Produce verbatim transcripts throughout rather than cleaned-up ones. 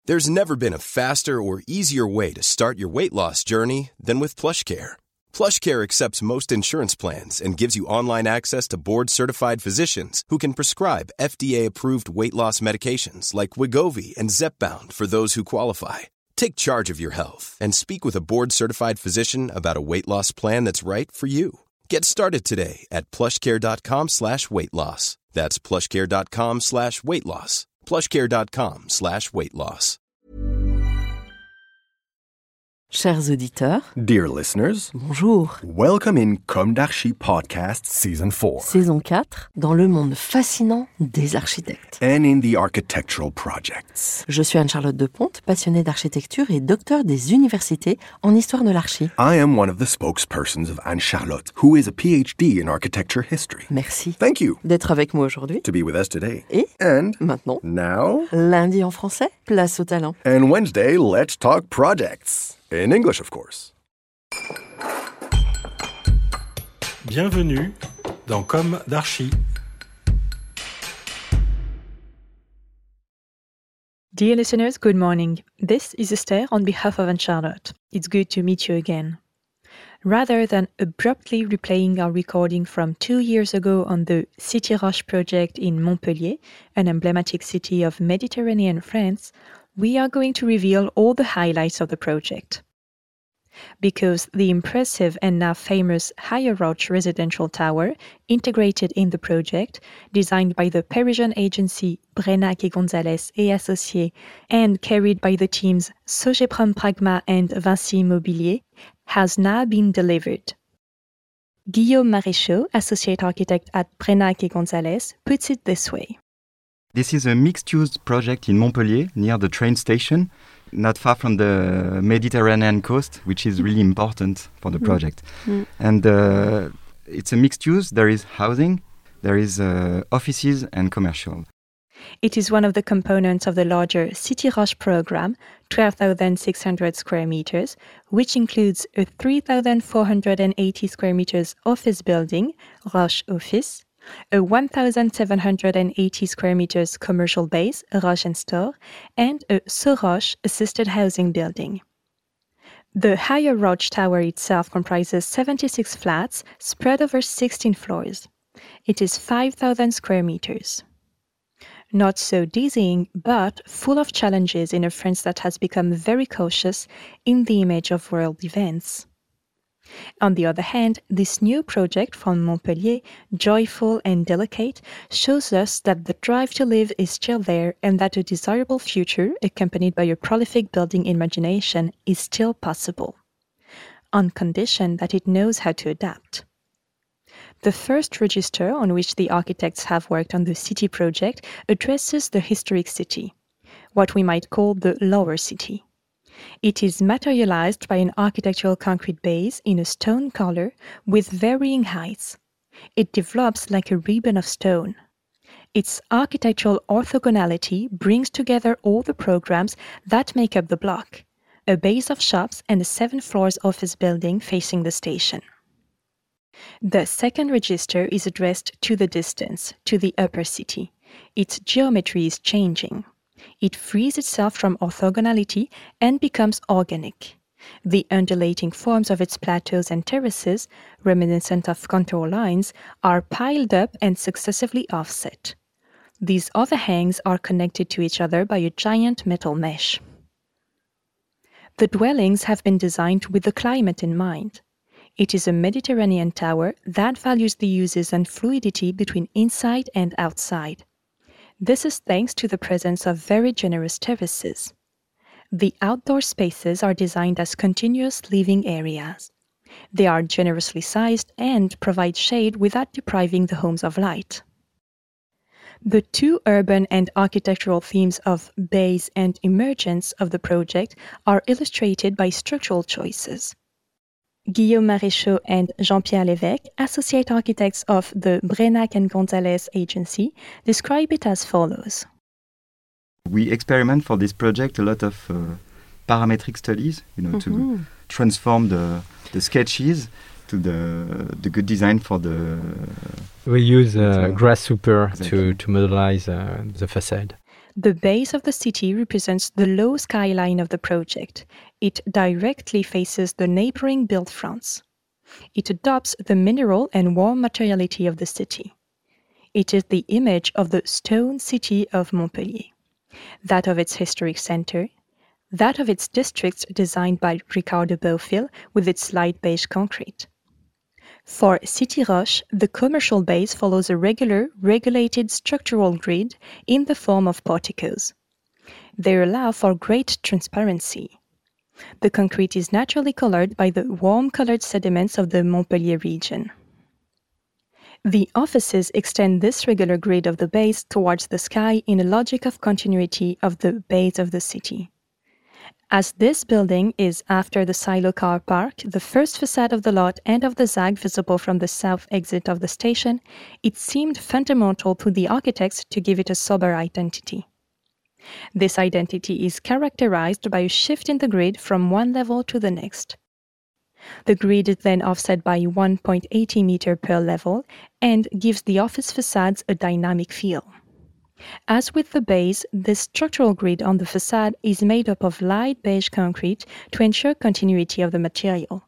There's never been a faster or easier way to start your weight loss journey than with PlushCare. PlushCare accepts most insurance plans and gives you online access to board-certified physicians who can prescribe F D A-approved weight loss medications like Wegovy and Zepbound for those who qualify. Take charge of your health and speak with a board-certified physician about a weight loss plan that's right for you. Get started today at plushcare.com slash weight loss. That's plushcare.com slash weight loss. plushcare.com slash weight loss. Chers auditeurs, dear listeners, bonjour. Welcome in Comme d'Archi Podcast Season four. Saison quatre, dans le monde fascinant des architectes. And in the architectural projects. Je suis Anne-Charlotte Deponte, passionnée d'architecture et docteur des universités en histoire de l'archi. I am one of the spokespersons of Anne-Charlotte, who is a P H D in architecture history. Merci. Thank you. D'être avec moi aujourd'hui. To be with us today. Et And maintenant, now, lundi en français, place au talent. And Wednesday, let's talk projects. In English, of course. Bienvenue dans Comme d'Archi. Dear listeners, good morning. This is Esther on behalf of Anne-Charlotte. It's good to meet you again. Rather than abruptly replaying our recording from two years ago on the City Roche project in Montpellier, an emblematic city of Mediterranean France, we are going to reveal all the highlights of the project. Because the impressive and now famous Higher Roche residential tower, integrated in the project, designed by the Parisian agency Brenac et Gonzalez et Associés, and carried by the teams Sogeprom Pragma and Vinci Immobilier, has now been delivered. Guillaume Maréchaux, associate architect at Brenac et Gonzalez, puts it this way. This is a mixed-use project in Montpellier, near the train station, not far from the Mediterranean coast, which is really important for the project. Mm. And uh, it's a mixed use. There is housing, there is uh, offices and commercial. It is one of the components of the larger City Roche program, twelve thousand six hundred square meters, which includes a three thousand four hundred eighty square meters office building, Roche Office, a one thousand seven hundred eighty square meters commercial base, Roche and Store, and a Soroche assisted housing building. The Higher Roche Tower itself comprises seventy-six flats spread over sixteen floors. It is five thousand square meters. Not so dizzying, but full of challenges in a France that has become very cautious in the image of world events. On the other hand, this new project from Montpellier, joyful and delicate, shows us that the drive to live is still there and that a desirable future, accompanied by a prolific building imagination, is still possible, on condition that it knows how to adapt. The first register on which the architects have worked on the city project addresses the historic city, what we might call the lower city. It is materialized by an architectural concrete base in a stone color with varying heights. It develops like a ribbon of stone. Its architectural orthogonality brings together all the programs that make up the block, a base of shops and a seven floors office building facing the station. The second register is addressed to the distance, to the upper city. Its geometry is changing. It frees itself from orthogonality and becomes organic. The undulating forms of its plateaus and terraces, reminiscent of contour lines, are piled up and successively offset. These overhangs are connected to each other by a giant metal mesh. The dwellings have been designed with the climate in mind. It is a Mediterranean tower that values the uses and fluidity between inside and outside. This is thanks to the presence of very generous terraces. The outdoor spaces are designed as continuous living areas. They are generously sized and provide shade without depriving the homes of light. The two urban and architectural themes of base and emergence of the project are illustrated by structural choices. Guillaume Maréchaux and Jean-Pierre Lévesque, associate architects of the Brenac and Gonzalez agency, describe it as follows. We experiment for this project a lot of uh, parametric studies, you know, mm-hmm. to transform the, the sketches to the the good design for the... We use uh, Grasshopper exactly. to, to modelize uh, the facade. The base of the city represents the low skyline of the project. It directly faces the neighboring built fronts. It adopts the mineral and warm materiality of the city. It is the image of the stone city of Montpellier, that of its historic center, that of its districts designed by Ricardo Bofill with its light beige concrete. For City Roche, the commercial base follows a regular, regulated structural grid in the form of porticos. They allow for great transparency. The concrete is naturally colored by the warm-colored sediments of the Montpellier region. The offices extend this regular grid of the base towards the sky in a logic of continuity of the base of the city. As this building is after the Silo car park, the first facade of the lot and of the Z A G visible from the south exit of the station, it seemed fundamental to the architects to give it a sober identity. This identity is characterized by a shift in the grid from one level to the next. The grid is then offset by one point eight zero meters per level and gives the office facades a dynamic feel. As with the base, this structural grid on the facade is made up of light beige concrete to ensure continuity of the material.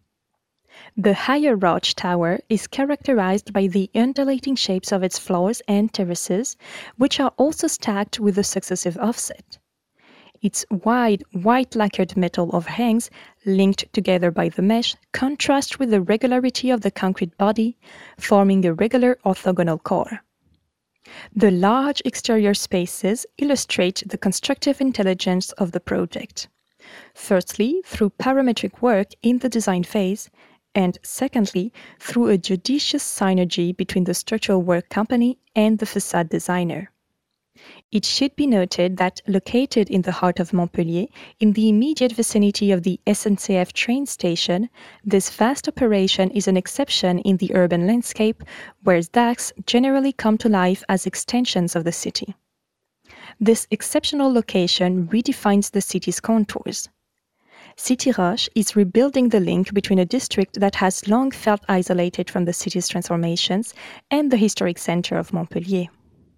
The higher Roche Tower is characterized by the undulating shapes of its floors and terraces, which are also stacked with a successive offset. Its wide, white lacquered metal overhangs, linked together by the mesh, contrast with the regularity of the concrete body, forming a regular orthogonal core. The large exterior spaces illustrate the constructive intelligence of the project. Firstly, through parametric work in the design phase, and secondly, through a judicious synergy between the structural work company and the facade designer. It should be noted that located in the heart of Montpellier, in the immediate vicinity of the S N C F train station, this vast operation is an exception in the urban landscape, where Z A Gs generally come to life as extensions of the city. This exceptional location redefines the city's contours. City Roche is rebuilding the link between a district that has long felt isolated from the city's transformations and the historic center of Montpellier.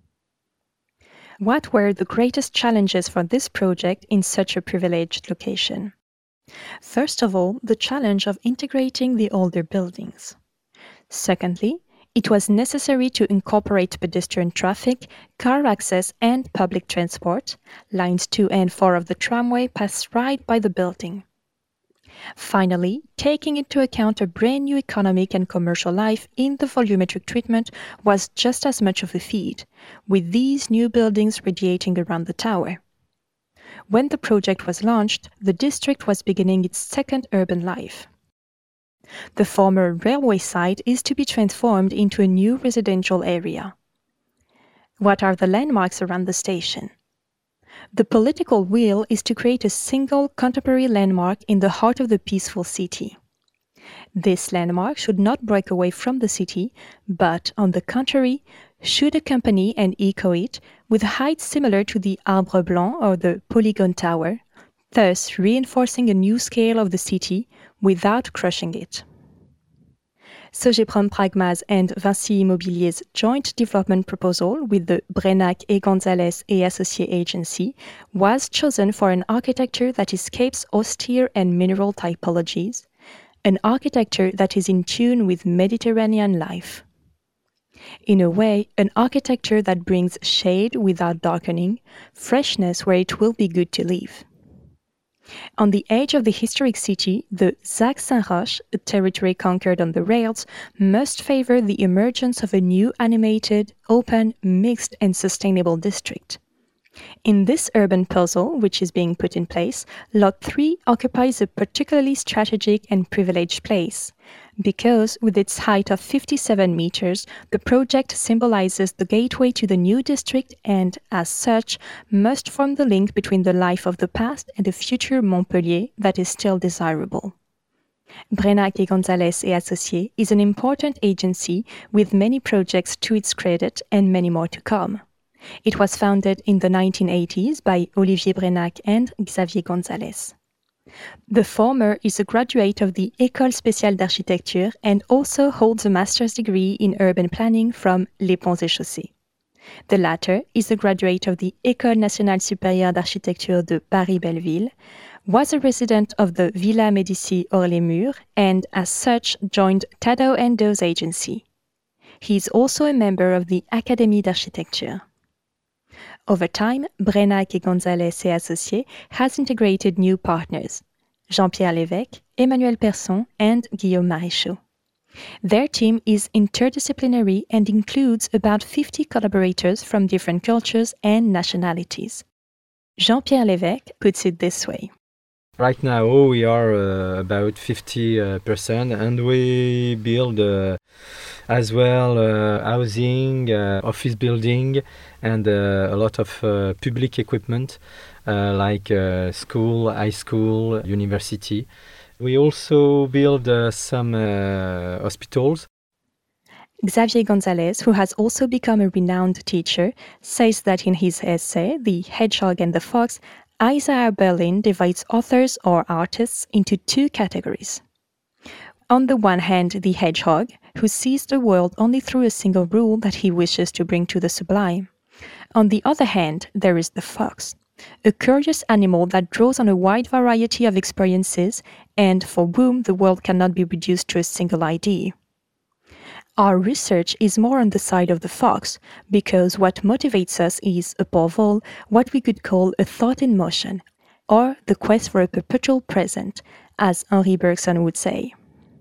What were the greatest challenges for this project in such a privileged location? First of all, the challenge of integrating the older buildings. Secondly, it was necessary to incorporate pedestrian traffic, car access, and public transport. Lines two and four of the tramway pass right by the building. Finally, taking into account a brand new economic and commercial life in the volumetric treatment was just as much of a feat, with these new buildings radiating around the tower. When the project was launched, the district was beginning its second urban life. The former railway site is to be transformed into a new residential area. What are the landmarks around the station? The political will is to create a single contemporary landmark in the heart of the peaceful city. This landmark should not break away from the city, but, on the contrary, should accompany and echo it with heights similar to the Arbre Blanc or the Polygon Tower, thus reinforcing a new scale of the city without crushing it. Sogeprom Pragmas and Vinci Immobilier's joint development proposal with the Brenac et Gonzalez et Associés agency was chosen for an architecture that escapes austere and mineral typologies, an architecture that is in tune with Mediterranean life. In a way, an architecture that brings shade without darkening, freshness where it will be good to live. On the edge of the historic city, the Z A G Saint-Roch, a territory conquered on the rails, must favor the emergence of a new animated, open, mixed, and sustainable district. In this urban puzzle, which is being put in place, Lot three occupies a particularly strategic and privileged place, because, with its height of fifty-seven meters, the project symbolizes the gateway to the new district and, as such, must form the link between the life of the past and the future Montpellier that is still desirable. Brenac et Gonzalez et Associés is an important agency with many projects to its credit and many more to come. It was founded in the nineteen eighties by Olivier Brenac and Xavier Gonzalez. The former is a graduate of the École Spéciale d'Architecture and also holds a master's degree in urban planning from Les Ponts et Chaussées. The latter is a graduate of the École Nationale Supérieure d'Architecture de Paris-Belleville, was a resident of the Villa Médicis Hors-les-Murs, and as such joined Tadao Endo's agency. He is also a member of the Académie d'Architecture. Over time, Brenac et Gonzalez et Associés has integrated new partners, Jean-Pierre Lévesque, Emmanuel Persson, and Guillaume Maréchaux. Their team is interdisciplinary and includes about fifty collaborators from different cultures and nationalities. Jean-Pierre Lévesque puts it this way. Right now we are uh, about fifty percent uh, and we build uh, as well uh, housing, uh, office building and uh, a lot of uh, public equipment uh, like uh, school, high school, university. We also build uh, some uh, hospitals. Xavier Gonzalez, who has also become a renowned teacher, says that in his essay, The Hedgehog and the Fox, Isaiah Berlin divides authors or artists into two categories. On the one hand, the hedgehog, who sees the world only through a single rule that he wishes to bring to the sublime. On the other hand, there is the fox, a curious animal that draws on a wide variety of experiences and for whom the world cannot be reduced to a single idea. Our research is more on the side of the fox because what motivates us is, above all, what we could call a thought in motion, or the quest for a perpetual present, as Henri Bergson would say.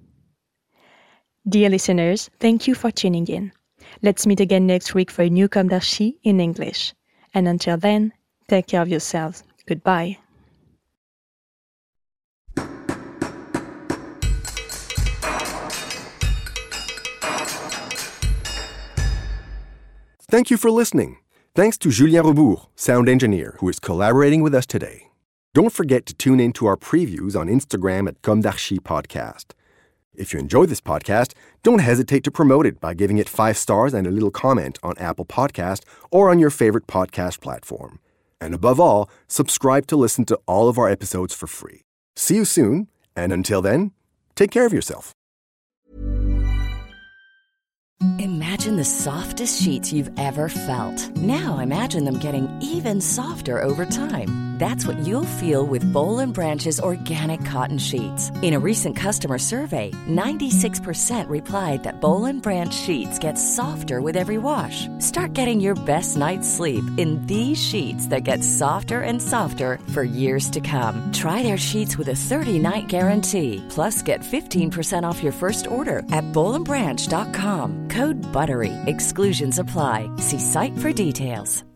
Dear listeners, thank you for tuning in. Let's meet again next week for a new Comme d'Archi in English. And until then, take care of yourselves. Goodbye. Thank you for listening. Thanks to Julien Rebourg, sound engineer, who is collaborating with us today. Don't forget to tune in to our previews on Instagram at Comme d'Archi Podcast. If you enjoy this podcast, don't hesitate to promote it by giving it five stars and a little comment on Apple Podcast or on your favorite podcast platform. And above all, subscribe to listen to all of our episodes for free. See you soon, and until then, take care of yourself. Imagine the softest sheets you've ever felt. Now imagine them getting even softer over time. That's what you'll feel with Boll and Branch's organic cotton sheets. In a recent customer survey, ninety-six percent replied that Boll and Branch sheets get softer with every wash. Start getting your best night's sleep in these sheets that get softer and softer for years to come. Try their sheets with a thirty-night guarantee. Plus, get fifteen percent off your first order at boll and branch dot com. Code BUTTERY. Exclusions apply. See site for details.